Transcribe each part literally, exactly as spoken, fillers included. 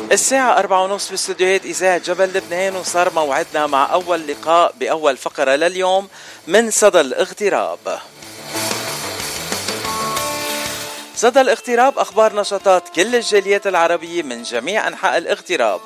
الساعة أربعة ونص باستديوهات إذاعة جبل لبنان، وصار موعدنا مع أول لقاء بأول فقرة لليوم من صدى الاغتراب. صدى الاغتراب أخبار نشاطات كل الجاليات العربية من جميع أنحاء الاغتراب.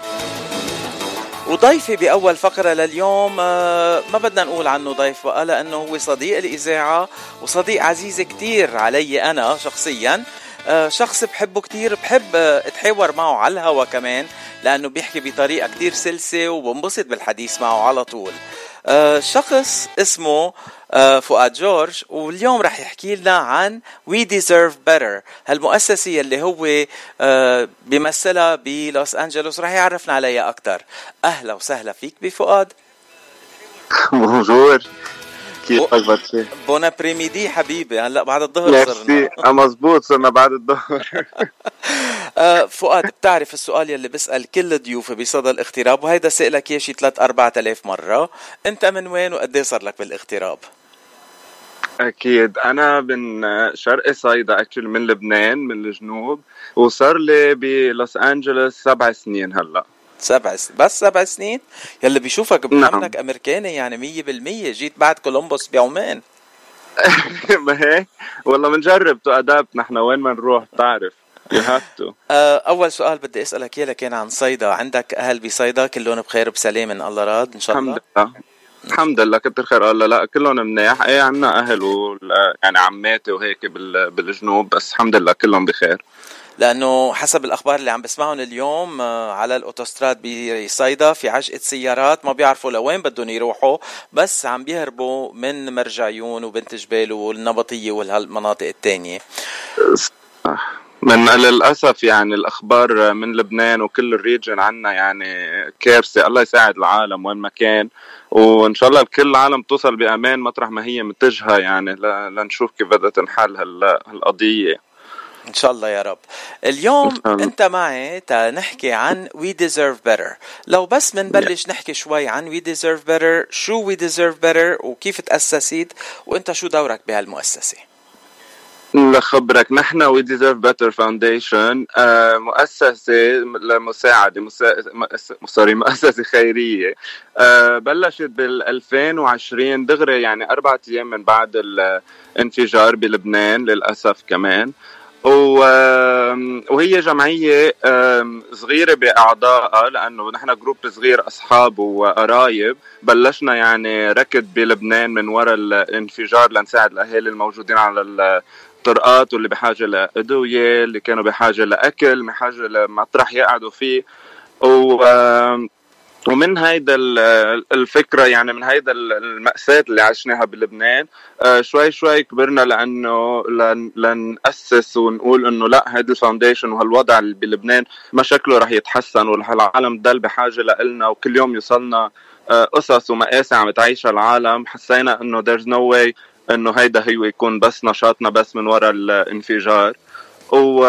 وضيفي بأول فقرة لليوم ما بدنا نقول عنه ضيف بقى، لأنه هو صديق الإذاعة وصديق عزيز كتير علي أنا شخصياً. شخص بحبه كتير، بحب اتحاور معه على الهوا كمان لأنه بيحكي بطريقة كتير سلسة وبنبسط بالحديث معه على طول. شخص اسمه فؤاد جورج، واليوم رح يحكي لنا عن We Deserve Better، هالمؤسسة اللي هو بيمثلها بلوس أنجلوس، رح يعرفنا عليها أكتر. أهلا وسهلا فيك بفؤاد. بونجور، كيف أخبارك؟ بون ابريميدي حبيبي، هلا بعد الظهر صرنا. مزبوط، صرنا بعد الظهر. فؤاد، بتعرف السؤال يلي بسأل كل ضيوفي بصدى الاغتراب، وهيدا سألك ياشي ثلاث أربعة آلاف مرة، أنت من وين وقديه صار لك بالاغتراب؟ أكيد أنا من شرق صيدا، أكتشلي من لبنان، من الجنوب، وصار لي بلوس أنجلوس سبع سنين هلأ. سبع سنين بس؟ سبع سنين يلي بيشوفك بيعملك نعم. أمريكاني يعني مية بالمية، جيت بعد كولومبوس بيومين. ما هيك والله بنجرب تو أدابت نحن وين ما نروح، تعرف you have to. أول سؤال بدي أسألك إياه كان عن صيدا. عندك أهل بصيدا كلهم بخير وبسلام من الله راد إن شاء الله؟ الحمد لله الحمد لله كتر خير الله. لا كلهم منيح، ايه عنا أهل و يعني عماتي وهيك بالجنوب، بس الحمد لله كلهم بخير. لأنه حسب الأخبار اللي عم بسمعهم اليوم على الأوتوستراد بصيدا في عجقة سيارات ما بيعرفوا لوين بدهم يروحوا، بس عم بيهربوا من مرجعيون وبنت جبال والنبطية والمناطق التانية. من للأسف يعني الأخبار من لبنان وكل الريجن عنا يعني كارثة. الله يساعد العالم وين ما كان، وإن شاء الله كل العالم توصل بأمان مطرح ما هي متجهة، يعني لنشوف كيف بدها تنحل هالقضية إن شاء الله يا رب. اليوم أنت معي تنحكي عن We Deserve Better. لو بس منبلش نحكي شوي عن We Deserve Better، شو We Deserve Better وكيف تأسست وأنت شو دورك بهالمؤسسة؟ لخبرك، نحن We Deserve Better Foundation آه مؤسسة لمساعدة مسا... سوري مؤسسة خيرية آه بلشت بالألفين وعشرين دغري، يعني أربعة أيام من بعد الانفجار بلبنان للأسف كمان. وهي جمعية صغيرة بأعضائها، لأنه نحن جروب صغير أصحاب وقرايب. بلشنا يعني ركض بلبنان من وراء الانفجار لنساعد الأهالي الموجودين على الطرقات، واللي بحاجة لأدوية، اللي كانوا بحاجة لأكل، بحاجة لمطرح يقعدوا فيه. و ومن هيدا الفكرة، يعني من هيدا المأساة اللي عشناها بلبنان، شوي شوي كبرنا لأنه لنأسس ونقول إنه لا، هيدا الفاونديشن وهالوضع اللي بلبنان ما شكله رح يتحسن، والعالم دل بحاجة لإلنا، وكل يوم يوصلنا قصص ومآسي عم تعيشها العالم. حسينا إنه there's no way إنه هيدا هو يكون بس نشاطنا بس من وراء الانفجار. و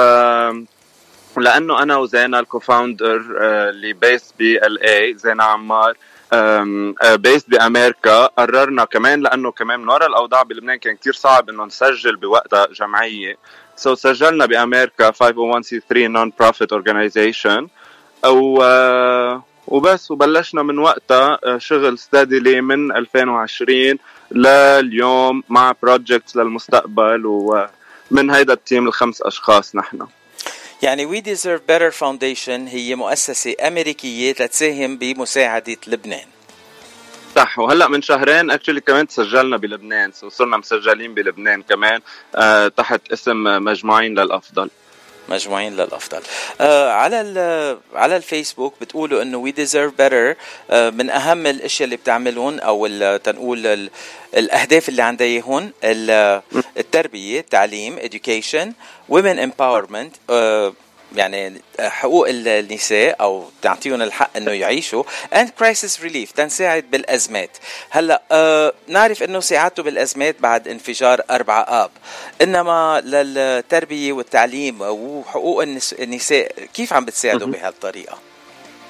لأنه أنا وزينة الكوفاوندر اللي بيس بي ال اي، زينة عمار بيس بأمريكا، قررنا كمان لأنه كمان من وراء الأوضاع بلبنان كان كتير صعب إنه نسجل بوقتها جمعية، سو سجلنا بأمريكا خمسة صفر واحد سي ثلاثة non-profit organization. أو وبس، وبلشنا من وقتها شغل steadily من ألفين وعشرين لليوم مع projects للمستقبل، ومن هيدا التيم الخمس أشخاص نحن. يعني We Deserve Better Foundation هي مؤسسة أمريكية تساهم بمساعدة لبنان. صح، وهلأ من شهرين actually كمان تسجلنا بلبنان، وصرنا مسجلين بلبنان كمان آه تحت اسم مجموعين للأفضل. مجموعين للأفضل. آه على على الفيسبوك بتقولوا إنه We Deserve Better آه من أهم الأشياء اللي بتعملون، أو تنقول الأهداف اللي عنديهن التربية، التعليم education، women empowerment آه يعني حقوق النساء أو تعطيهم الحق إنه يعيشوا، and crisis relief تنساعد بالأزمات. هلا آه نعرف إنه ساعدتوا بالأزمات بعد انفجار أربعة آب، إنما للتربية والتعليم وحقوق النساء كيف عم بتساعدوا بهالطريقة؟ so,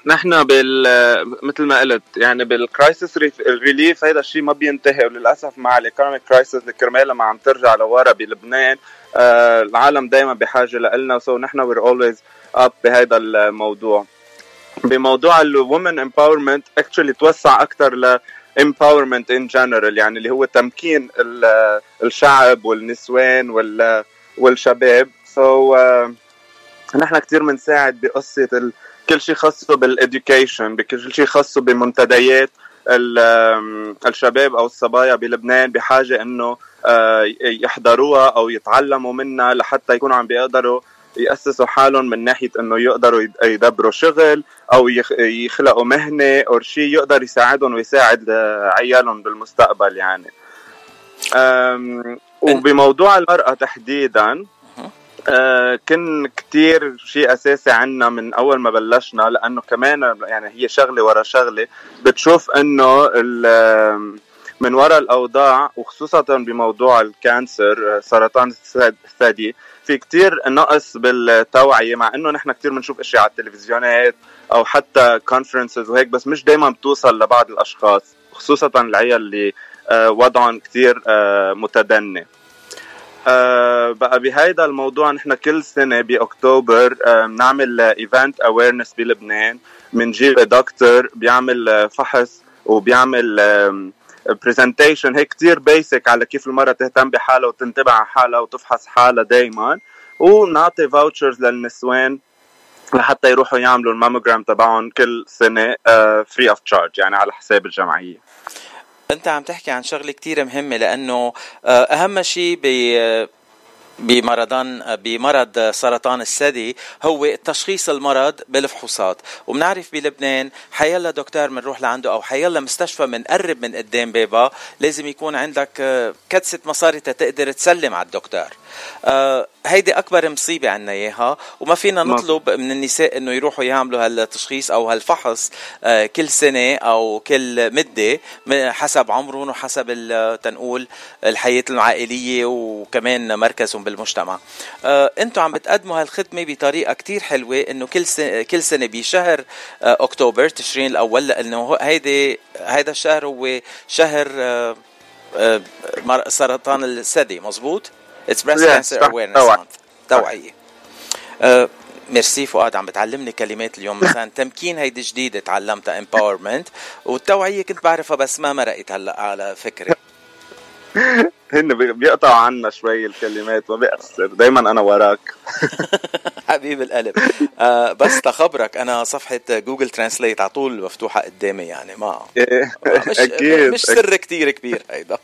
نحن بال مثل ما قلت يعني بالكرايسيس ريليف هيدا الشيء ما بينتهي، وللاسف مع الايكونوميك كرايسيس اللي كرمالها ما عم ترجع لورا بلبنان. آه العالم دايما بحاجه لنا، سو نحن وير اولويز اب بهذا الموضوع. بموضوع الومن امباورمنت اكشلي توسع اكثر ل empowerment in general، يعني اللي هو تمكين الشعب والنسوان والشباب. سو so, uh, نحن كتير منساعد بقصة ال... كل شيء خاصه بالإديوكيشن، بكل شيء خاصه بمنتديات الشباب أو الصبايا بلبنان بحاجة إنه يحضروها أو يتعلموا منها لحتى يكونوا عم بيقدروا يأسسوا حالهم من ناحية إنه يقدروا يدبروا شغل أو يخلقوا مهنة أو شيء يقدر يساعدهم ويساعد عيالهم بالمستقبل يعني. وبموضوع المرأة تحديداً آه كن كتير شيء أساسي عنا من أول ما بلشنا، لأنه كمان يعني هي شغلة ورا شغلة بتشوف أنه من وراء الأوضاع، وخصوصا بموضوع الكانسر سرطان الثدي في كتير نقص بالتوعية، مع أنه نحن كتير منشوف أشياء على التلفزيونات أو حتى كونفرنسز وهيك، بس مش دايما بتوصل لبعض الأشخاص، خصوصا العيال اللي آه وضعهم كتير آه متدني. آه بقى بهيدا الموضوع نحن كل سنة بأكتوبر آه نعمل ايفنت اويرنس بلبنان، منجيب دكتور بيعمل فحص وبيعمل بريزنتيشن هيك كتير بيسك على كيف المرأة تهتم بحالها وتنتبه على حالها وتفحص حالها دايما، ونعطي فاوتشرز للنسوان لحتى يروحوا يعملوا الماموجرام تبعهم كل سنة فري اوف تشارج، يعني على حساب الجمعية. انت عم تحكي عن شغله كتير مهمه، لانه اهم شيء ب بمرضان بمرض سرطان الثدي هو التشخيص المرض بالفحوصات. وبنعرف بلبنان حيلا دكتور منروح لعنده او حيلا مستشفى منقرب من قدام بابا لازم يكون عندك كدسة مصاري تقدر تسلم على الدكتور. آه هيدي اكبر مصيبه عنا اياها، وما فينا نطلب من النساء انه يروحوا يعملوا هالتشخيص او هالفحص آه كل سنه او كل مده حسب عمرهم وحسب تنقول الحياه العائليه وكمان مركزهم بالمجتمع. آه انتم عم بتقدموا هالخدمه بطريقه كتير حلوه، انه كل سنه كل سنه بشهر آه اكتوبر تشرين الاول، لانه هيدي هيدا الشهر هو شهر آه آه سرطان الثدي. مزبوط؟ It's breast yeah, cancer awareness month. توعية. uh, ميرسي فؤاد، عم بتعلمني كلمات اليوم. مثلا تمكين هيدي جديدة تعلمتها empowerment، والتوعية كنت بعرفها بس ما مرقت هلا على فكرة. هن بيقطعوا عنا شوي الكلمات، ما بيأثر، دايما أنا وراك. حبيب القلب. آه بس تخبرك أنا صفحة جوجل ترانسليت على طول مفتوحة قدامي، يعني ما مش أكيد. مش سر أكيد. كتير كبير هيدا.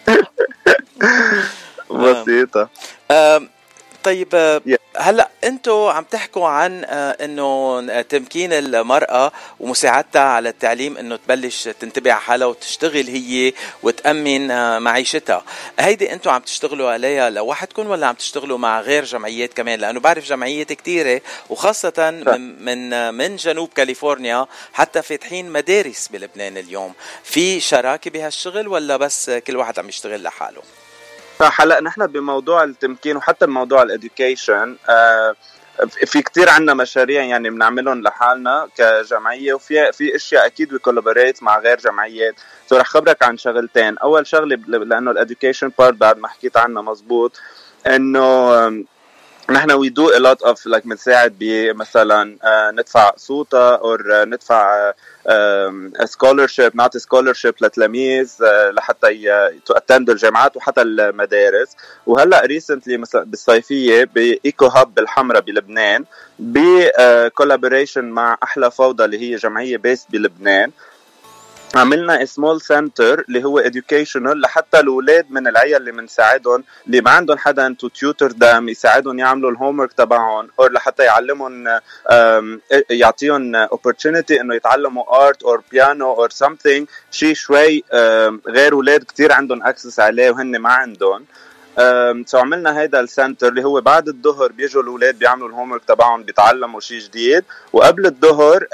بسيطة. آه طيب آه هلا انتو عم تحكوا عن آه انه تمكين المرأة ومساعدتها على التعليم، انه تبلش تنتبه على حالها وتشتغل هي وتأمن آه معيشتها. هيدي انتو عم تشتغلوا عليها لوحدكم ولا عم تشتغلوا مع غير جمعيات كمان؟ لانه بعرف جمعيات كتيرة وخاصة من من, من جنوب كاليفورنيا حتى فاتحين مدارس بلبنان اليوم. في شراكة بهالشغل ولا بس كل واحد عم يشتغل لحاله؟ هلا نحن بموضوع التمكين وحتى بموضوع الاديوكيشن آه في كتير عنا مشاريع يعني بنعملهم لحالنا كجمعيه، وفي في اشياء اكيد بكولابوريت مع غير جمعيات. سو رح خبرك عن شغلتين. اول شغله لانه الاديوكيشن بارت بعد ما حكيت عنها مزبوط، انه نحن we do a lot of like بنساعد بمثلا uh, ندفع صوتا أو uh, ندفع uh, um, scholarship، نعطي scholarship لتلاميذ uh, لحتى ي... to attend الجامعات وحتى المدارس. وهلأ recently مثلا بالصيفية بإيكو هاب بالحمرة بلبنان ب uh, collaboration مع أحلى فوضى اللي هي جمعية بيس بلبنان، عملنا سمول سنتر اللي هو educational لحتى الأولاد من العيال اللي منساعدهم اللي ما عندهم حدا to tutor them يساعدهم يعملوا الهومورك تبعهم، أو لحتى يعلمهم يعطيهم opportunity إنه يتعلموا art or piano or something شيء شوي غير أولاد كتير عندهم access عليه وهن ما عندهم. سو عملنا هيدا السنتر اللي هو بعد الظهر بيجوا الأولاد بيعملوا الهومورك تبعهم بيتعلموا شيء جديد، وقبل الظهر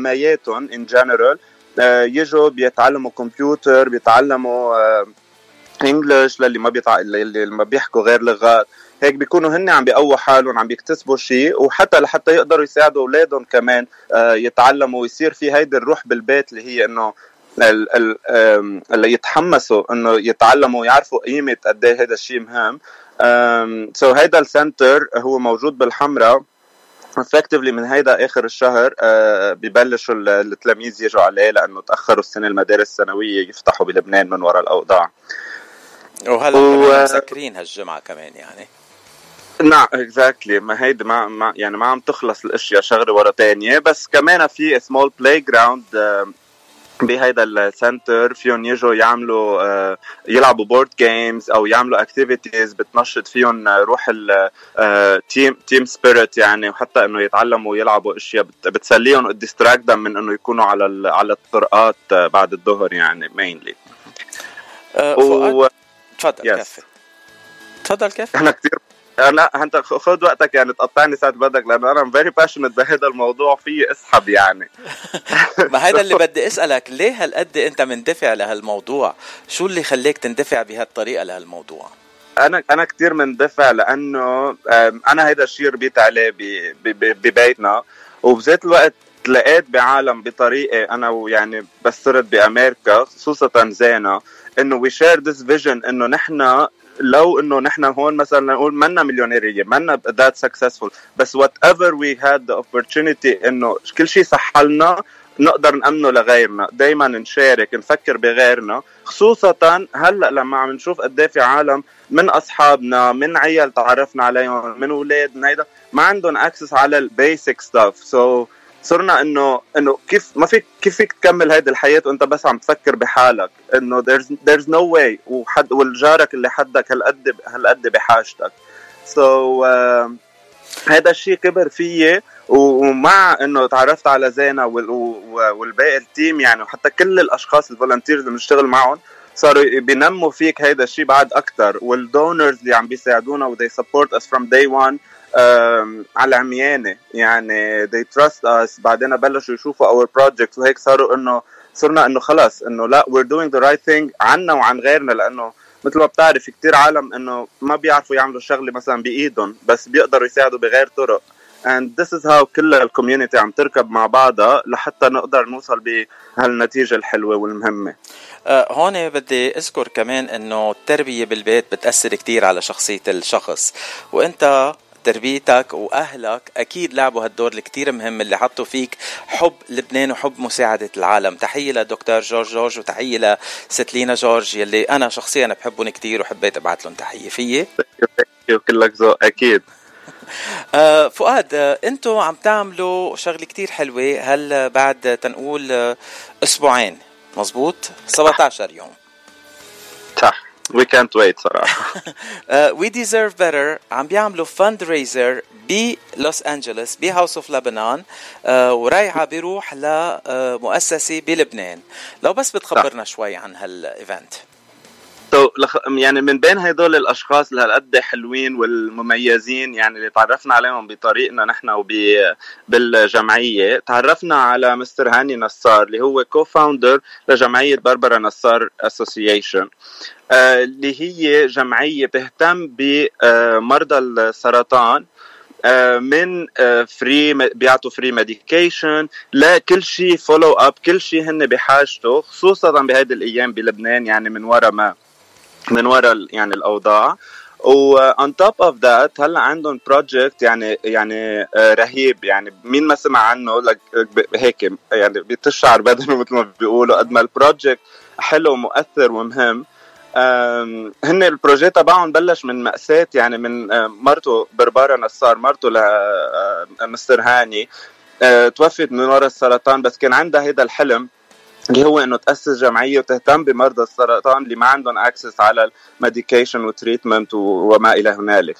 لأمياتهم in general يجوا بيتعلموا كمبيوتر، بيتعلموا انجلش، للي ما بيطع اللي ما بيحكوا غير لغات، هيك بيكونوا هن عم بيقووا حالهم، عم بيكتسبوا شيء، وحتى لحتى يقدروا يساعدوا اولادهم كمان يتعلموا ويصير في هيدي الروح بالبيت اللي هي انه اللي يتحمسوا انه يتعلموا ويعرفوا قيمه قد ايه هذا الشيء مهم. سو so هيدا السنتر هو موجود بالحمراء effectively من هيدا اخر الشهر. uh, ببلشوا التلاميذ يجوا عليه لانه تاخروا السنه المدارس الثانويه يفتحوا بلبنان من وراء الاوضاع، وهلا و... كمان مسكرين هالجمعه كمان يعني. نعم اكزاكتلي، ما هيدي ما, ما يعني ما عم تخلص الاشياء شغله ورا تانية، بس كمان في سمول بلاي جراوند بهيدا السنتر فيهم يجوا يعملوا uh, يلعبوا بورد جيمز او يعملوا اكتيفيتيز بتنشط فيهم روح التيم تيم سبيريت يعني، وحتى انه يتعلموا يلعبوا اشياء بتسليهم وديستراكت من انه يكونوا على على الطرقات بعد الظهر يعني مينلي. و... تفضل كيف تفضل كيف احنا كثير لا انت خذ وقتك يعني تقطعني ساعه بدك، لانه انا فيري باشنت بهذا الموضوع فيه اسحب يعني. ما هذا اللي بدي اسالك، ليه هالقد انت مندفع لهالموضوع؟ شو اللي خليك تندفع بهالطريقه لهالموضوع؟ انا انا كثير مندفع لانه انا هيدا الشيء ربيت عليه ببيتنا، وبذات الوقت لقيت بعالم بطريقه انا ويعني بس صرت بامريكا خصوصا زينه انه وي شير ذس فيجن، انه نحن لو انه نحن هون مثلا نقول منا مليونيريه منا ذات سكسسفول، بس وات ايفر وي هاد ذا اوبورتونيتي انه كل شيء صح لنا نقدر نأمنه لغيرنا، دايما نشارك نفكر بغيرنا، خصوصا هلا لما عم نشوف قد ايه في عالم من اصحابنا من عيال تعرفنا عليهم من اولاد من هيدا ما عندهم اكسس على البيسك ستاف. سو صرنا انه انه كيف ما فيك كيف فيك تكمل هيدي الحياه وانت بس عم تفكر بحالك، انه there's there's no way، وحد والجارك اللي حدك هالقد هالقد بحاجتك. سو so, uh, هذا الشيء كبر فيي، ومع انه تعرفت على زينة والباقي التيم يعني، وحتى كل الاشخاص الفولنتيرز اللي بنشتغل معهم صاروا بينموا فيك هيدا الشيء بعد اكتر، والدونرز اللي عم بيساعدونا و they support us from day one على عميانة يعني they trust us. بعدين بلشوا يشوفوا our projects وهيك صاروا انه صرنا انه خلاص انه لا we're doing the right thing عنا وعن غيرنا، لانه مثل ما بتعرف كتير عالم انه ما بيعرفوا يعملوا شغلة مثلا بايدهم بس بيقدروا يساعدوا بغير طرق. and this is how كل الكوميونيتي عم تركب مع بعضها لحتى نقدر نوصل بهالنتيجة الحلوة والمهمة. أه هون بدي اذكر كمان انه التربية بالبيت بتأثر كتير على شخصية الشخص، وانت تربيتك وأهلك أكيد لعبوا هالدور الكتير مهم اللي حطوا فيك حب لبنان وحب مساعدة العالم. تحية لدكتور جورج جورج وتحية لستلينا جورج يلي أنا شخصيا بحبهم كتير وحبيت أبعت لهم تحية. فيه كلك ذوق أكيد. آه فؤاد، آه أنتوا عم تعملوا شغل كتير حلوة هل بعد تنقول آه أسبوعين مزبوط سبعة عشر يوم صح. We can't wait صراحة. uh, We Deserve Better عم بيعملوا fundraiser بلوس أنجلوس بهاوس اوف لبنان، uh, ورايحة بيروح لمؤسسة بلبنان. لو بس بتخبرنا شوي عن هالإيفنت. so, يعني من بين هيدول الأشخاص اللي هالقد حلوين والمميزين يعني اللي تعرفنا عليهم بطريقنا نحن وبالجمعية، تعرفنا على مستر هاني نصار اللي هو كو-فاوندر لجمعية باربرا نصار أسوسيشن، اللي هي جمعية بتهتم بمرضى السرطان من فري بيعطوا فري ميديكيشن لكل شيء فولو اب، كل شيء هن بحاجته خصوصا بهذه الايام بلبنان يعني من وراء ما من وراء يعني الاوضاع. و on top of that هلا عندهم بروجكت يعني يعني رهيب يعني مين ما سمع عنه هيك يعني بتشعر بدنه مثل ما بيقولوا قد ما البروجكت حلو ومؤثر ومهم. هن البروجيت تبعهم بلش من مأساة يعني من مرته بربارة نصار، مرته لمستر هاني توفت من وراء السرطان، بس كان عندها هيدا الحلم اللي هو انه تأسس جمعية وتهتم بمرضى السرطان اللي ما عندهم اكسس على الميديكيشن وتريتمنت وما الى هنالك.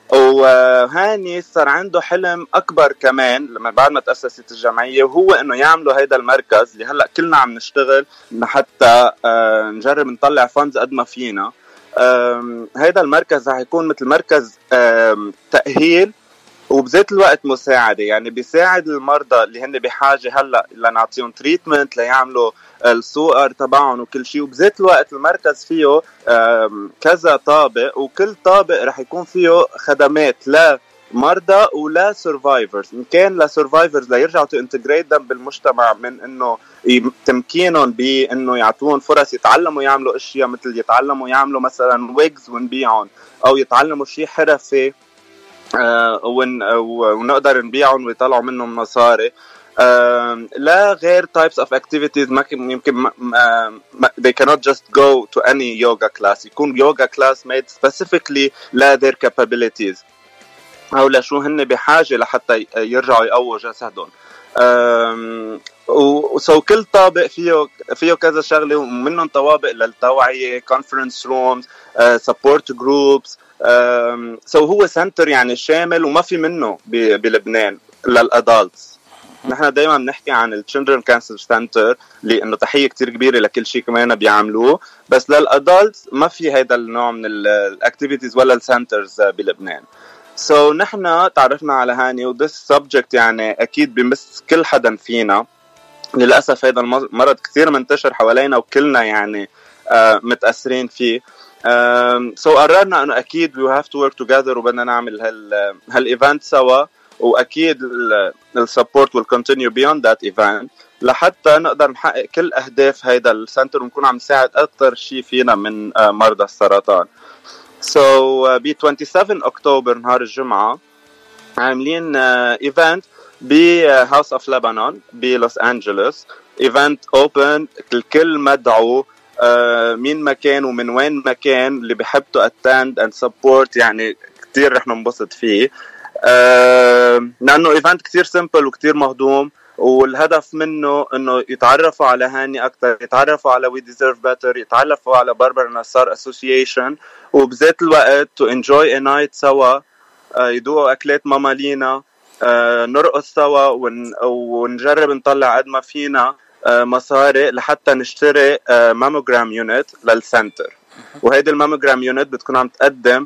وهاني صار عنده حلم اكبر كمان لما بعد ما تأسست الجمعية، وهو انه يعملوا هيدا المركز اللي هلا كلنا عم نشتغل حتى نجرب نطلع فاندز قد ما فينا. هيدا المركز رح يكون مثل مركز تأهيل وبذات الوقت مساعدة، يعني بيساعد المرضى اللي هن بحاجة هلأ لنعطيهم تريتمنت ليعملوا السوقر تبعهم وكل شيء. وبذات الوقت المركز فيه كذا طابق، وكل طابق رح يكون فيه خدمات لمرضى ولا سيرفايفرز. إن كان لسيرفايفرز ليرجعوا تانتجريت دم بالمجتمع، من إنه تمكينهم بإنه يعطوهم فرص يتعلموا يعملوا أشياء، مثل يتعلموا يعملوا مثلا ويجز ونبيعهم، أو يتعلموا شيء حرفي آه ون ونقدر نبيعهم ويطلعوا منهم مصاري. آه لا غير types of activities ما يمكن ما ما they cannot just go to any yoga class. يكون yoga class made specifically لا their capabilities أو لشو هن بحاجة لحتى يرجعوا يقووا جسدهم. وسو كل طابق فيه فيه كذا شغله، ومنهم طوابق للتوعيه، conference rooms, uh, support groups. سو هو سنتر يعني شامل وما في منه بلبنان للادلتس. نحن دايما بنحكي عن التشيلدرن كانسر سنتر لانه تحيه كتير كبيره لكل شيء كمان بيعملوه، بس للادلتس ما في هيدا النوع من الاكتيفيتيز ولا السنترز بلبنان. سو so, نحن تعرفنا على هاني وذس سبجكت يعني اكيد بمس كل حدا فينا. للاسف هذا المرض كثير منتشر حوالينا وكلنا يعني آه متاثرين فيه. سو so قررنا انه اكيد we have to work together وبدنا نعمل هال هالايفنت سوا، واكيد السبورت will continue beyond that event لحتى نقدر نحقق كل اهداف هيدا السنتر ونكون عم نساعد اكثر شيء فينا من آه مرضى السرطان. سو so, ب سبعة وعشرين أكتوبر نهار الجمعة عاملين ايفنت ب هاوس اوف لبنان بلوس أنجلوس. ايفنت اوبن، الكل مدعو، uh, مين مكان ومن وين مكان اللي بحب تو اتند اند سبورت، يعني كتير رح ننبسط فيه. uh, لأنه ايفنت كتير سيمبل وكتير مهضوم، والهدف منه انه يتعرفوا على هاني اكثر، يتعرفوا على We Deserve Better، يتعرفوا على باربرا نصار اسوسيشن، وبذات الوقت to enjoy a night سوا، يدوقوا اكلات ماما لينا، نرقص سوا ون... ونجرب نطلع قد ما فينا مصاري لحتى نشتري ماموجرام يونت للسنتر. وهيدي الماموجرام يونت بتكون عم تقدم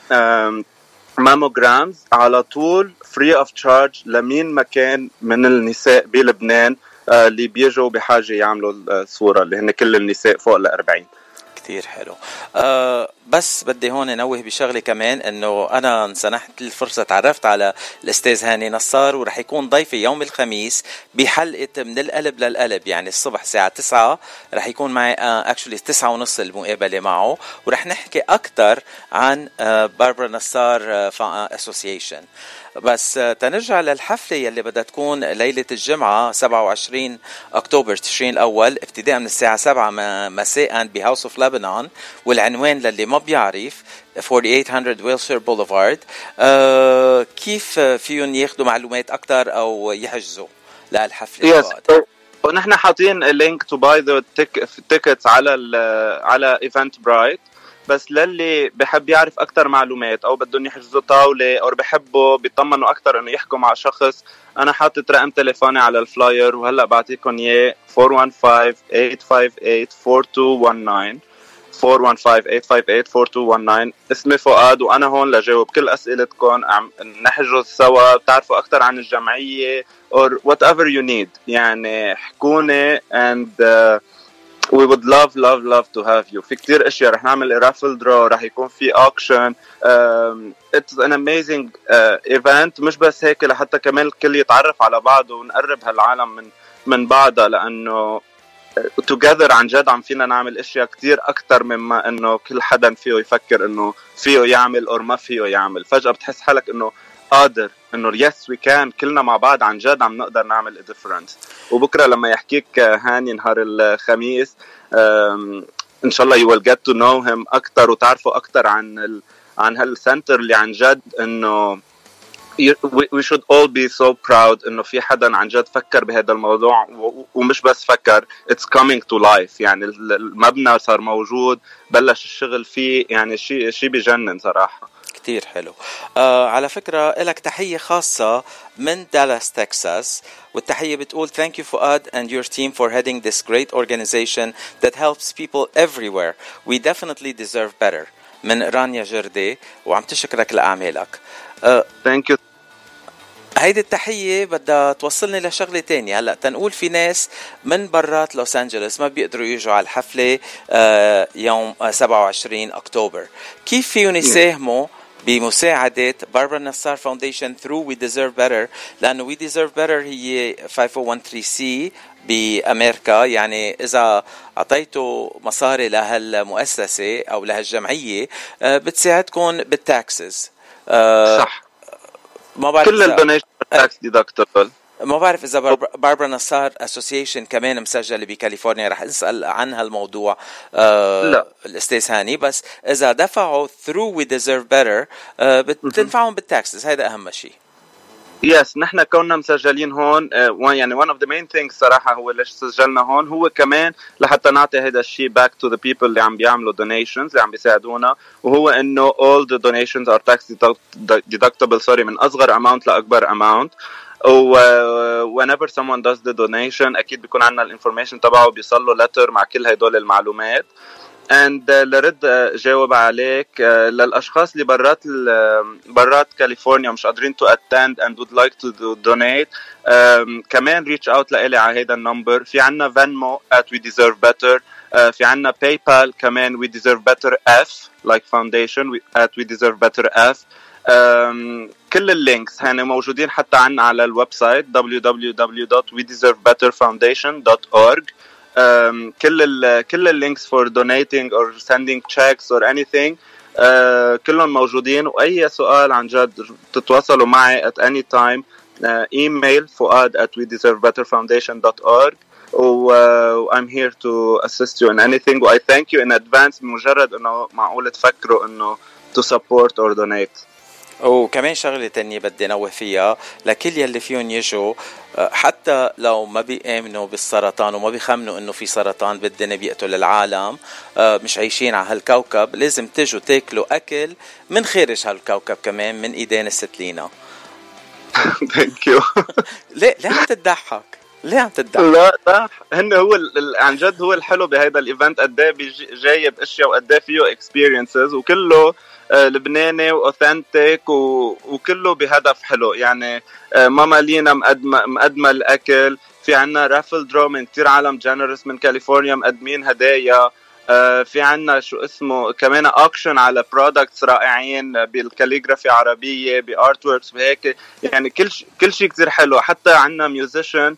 ماموجرامز على طول فري اوف تشارج لمين مكان من النساء بلبنان اللي بيجوا بحاجه يعملوا الصوره، اللي هن كل النساء فوق ال أربعين. كتير حلو. أه بس بدي هون نوه بشغله كمان، انه انا سنحت الفرصه تعرفت على الاستاذ هاني نصار، ورح يكون ضيفي يوم الخميس بحلقه من القلب للقلب، يعني الصبح الساعه تسعة رح يكون معي اكشولي uh, تسعة ونص المقابله معه، ورح نحكي اكثر عن uh, باربرا نصار اسوسيشن. uh, بس uh, تنرجع للحفله يلي بدها تكون ليله الجمعه سبعة وعشرين أكتوبر تشرين الاول ابتداء من الساعه سبعة مساء بهاوس اوف لبنان، والعنوان للي ما بيعرف ثمانية آلاف وثمانمية ويلشير بوليفارد. أه كيف فيهم ياخدوا معلومات اكثر او يحجزوا للحفله؟ yes. ونحن حاطين لينك تو باي ذا تيكتس على ال على ايفنت برايت، بس للي بحب يعرف اكثر معلومات او بدهم يحجزوا طاوله او بحبوا بيطمنوا اكثر انه يحكوا مع شخص، انا حاطط رقم تليفوني على الفلاير وهلا بعطيكم اياه أربعة واحد خمسة ثمانية خمسة ثمانية أربعة اتنين واحد تسعة أربعة واحد خمسة ثمانية خمسة ثمانية أربعة اتنين واحد تسعة. اسمي فؤاد وانا هون لجاوب كل اسئلتكم، نحجز سوا، بتعرفوا اكثر عن الجمعيه or whatever you need، يعني حكوني and uh, we would love love love to have you. في كتير اشياء رح نعمل raffle draw، رح يكون في auction. um, it's an amazing uh, event. مش بس هيك، لحتى كمان الكل يتعرف على بعضه ونقرب هالعالم من من بعضها، لانه together عن جد عم فينا نعمل اشياء كتير اكتر مما انه كل حدا فيه يفكر انه فيه يعمل او ما فيه يعمل. فجأة بتحس حالك انه قادر، انه يس وي كان، كلنا مع بعض عن جد عم نقدر نعمل ديفرنس. وبكره لما يحكيك هاني نهار الخميس ان شاء الله you will get to know him اكتر وتعرفوا اكتر عن ال... عن هالسنتر اللي عن جد انه we should all be so proud انه في حدا عن جد فكر بهذا الموضوع، ومش بس فكر، it's coming to life. يعني المبنى صار موجود، بلش الشغل فيه، يعني شيء شيء بيجنن صراحة. كتير حلو. آه على فكرة لك تحية خاصة من دالاس تكساس، والتحية بتقول thank you Fuad and your team for heading this great organization that helps people everywhere. We definitely deserve better. من رانيا جردي، وعم تشكرك لأعمالك. آه thank you هيدي التحية بدها توصلني لشغلة تانية. هلأ تنقول في ناس من برات لوس أنجلوس ما بيقدروا يجوا على الحفلة آه يوم آه سبعة وعشرين أكتوبر، كيف فيهم يساهموا بمساعدة باربرا نصار فاونديشن through We Deserve Better؟ لأنه We Deserve Better هي خمسة مية وثلاثة سي بأمريكا، يعني إذا أعطيتوا مصاري لهالمؤسسة أو لهالجمعية آه بتساعدكم بالتاكسز. آه صح، ما بعرف كل الدونيشن تاكس ديدكتبل. ما بعرف إذا باربرا نصار أسوسيشن كمان مسجلة بكاليفورنيا، رح نسأل عن هالموضوع آه لا الأستاذ هاني. بس إذا دفعوا through We Deserve Better آه بتنفعهم بالتاكسز، هذا أهم شيء. يس yes, نحن كنا مسجلين هون uh, يعني one of the main things صراحة هو ليش سجلنا هون هو كمان لحتى نعطي هذا الشيء back to the people اللي عم بيعملوا donations اللي عم بيساعدونا، وهو إنه all the donations are tax deductible sorry من أصغر amount لأكبر amount. و uh, whenever someone does the donation أكيد بيكون عنا الانفورميشن تبعه، بيصله letter مع كل هدول المعلومات. and uh, لرد uh, جاوب عليك uh, للأشخاص اللي برات برات كاليفورنيا مش قادرين to attend and would like to do donate um, كمان reach out لإلي على هيدا النمبر. في عنا Venmo at We Deserve Better، uh, في عنا PayPal كمان We Deserve Better F like foundation at We Deserve Better F. um, كل اللينكس هن موجودين حتى عنا على الويب سايت دبليو دبليو دبليو دوت وي ديزيرف بيتر فاونديشن دوت أورج. Um, كل ال كل اللينكس for donating or sending checks or anything uh, كلهم موجودين. وأي سؤال عن جد تتواصلوا معي at any time. uh, email فؤاد at we deserve better foundation dot org و uh, I'm here to assist you in anything. و I thank you in advance بمجرد إنه معقول تفكروا إنه to support or donate. وكمان شغلة تانية بدي نوه فيها لكل يلي فيهم يجوا، حتى لو ما بيآمنوا بالسرطان وما بيخمنوا انه في سرطان بالدنيا بيقتل العالم، مش عايشين على هالكوكب، لازم تجوا تاكلوا اكل من خارج هالكوكب كمان من ايدين الست لينا. Thank you. ليه ليه عم تضحك؟ ليه عم تضحك؟ لا لا هن هو عن جد هو الحلو بهذا الايفنت، قد ايه جايب اشياء وقد ايه فيه اكسبيرينسز وكله لبناني واوثنتيك وكله بهدف حلو. يعني ماما لينا مقدمه مقدمه الاكل، في عنا رافل درو من كتير عالم جنرس من كاليفورنيا مقدمين هدايا، في عنا شو اسمه كمان اوكشن على برودكتس رائعين بالكاليغرافي عربيه بارت ووركس وهيك. يعني كل ش... كل شيء كتير حلو. حتى عنا ميوزيشن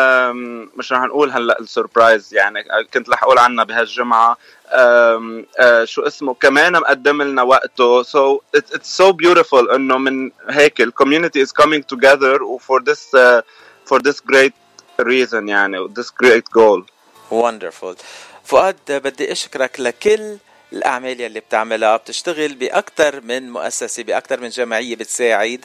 مش رح نقول هلا السربرايز، يعني كنت رح اقول عنها بهالجمعه أم أه شو اسمه كمان مقدم لنا وقته. so it's, it's so beautiful انه من هيك ال community is coming together for this uh, for this great reason يعني this great goal. wonderful. فؤاد بدي اشكرك لكل الأعمال اللي بتعملها، بتشتغل بأكتر من مؤسسة بأكتر من جمعية بتساعد،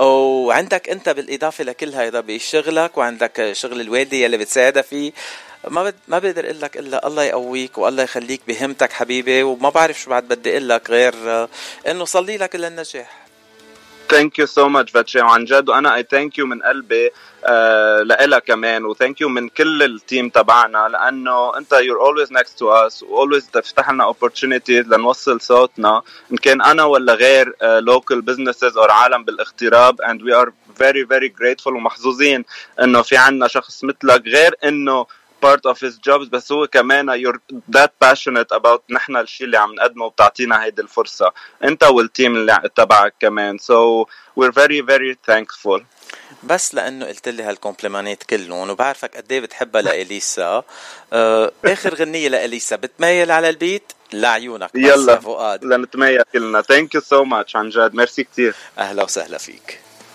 وعندك أنت بالإضافة لكل هيدا بشغلك وعندك شغل الوالدة اللي بتساعدها فيه. ما بد... ما بقدر اقول لك الا الله يقويك والله يخليك بهمتك حبيبي، وما بعرف شو بعد بدي اقول لك غير انه صلي لك للنجاح. Thank you so much فاتشي عن جد، وانا I thank you من قلبي آه لإلها كمان، و thank you من كل التيم تبعنا، لانه انت you're always next to us و always تفتح لنا opportunities لنوصل صوتنا ان كان انا ولا غير آه local businesses او عالم بالاغتراب. and we are very very grateful ومحظوظين انه في عنا شخص مثلك، غير انه part of his jobs بس هو كمان you're that passionate about نحن الشيء اللي عم نقدمه وبتعطينا هيدي الفرصة انت والتيم اللي تبعك كمان. so we're very very thankful. بس لانه قلت لي هالكومبليمانات كلهم وبعرفك قد ايه بتحبها لإليسا، آه اخر غنية لإليسا بتميل على البيت لعيونك. يلا فؤاد لنتميل كلنا. thank you so much عن جد، ميرسي كتير. اهلا وسهلا فيك.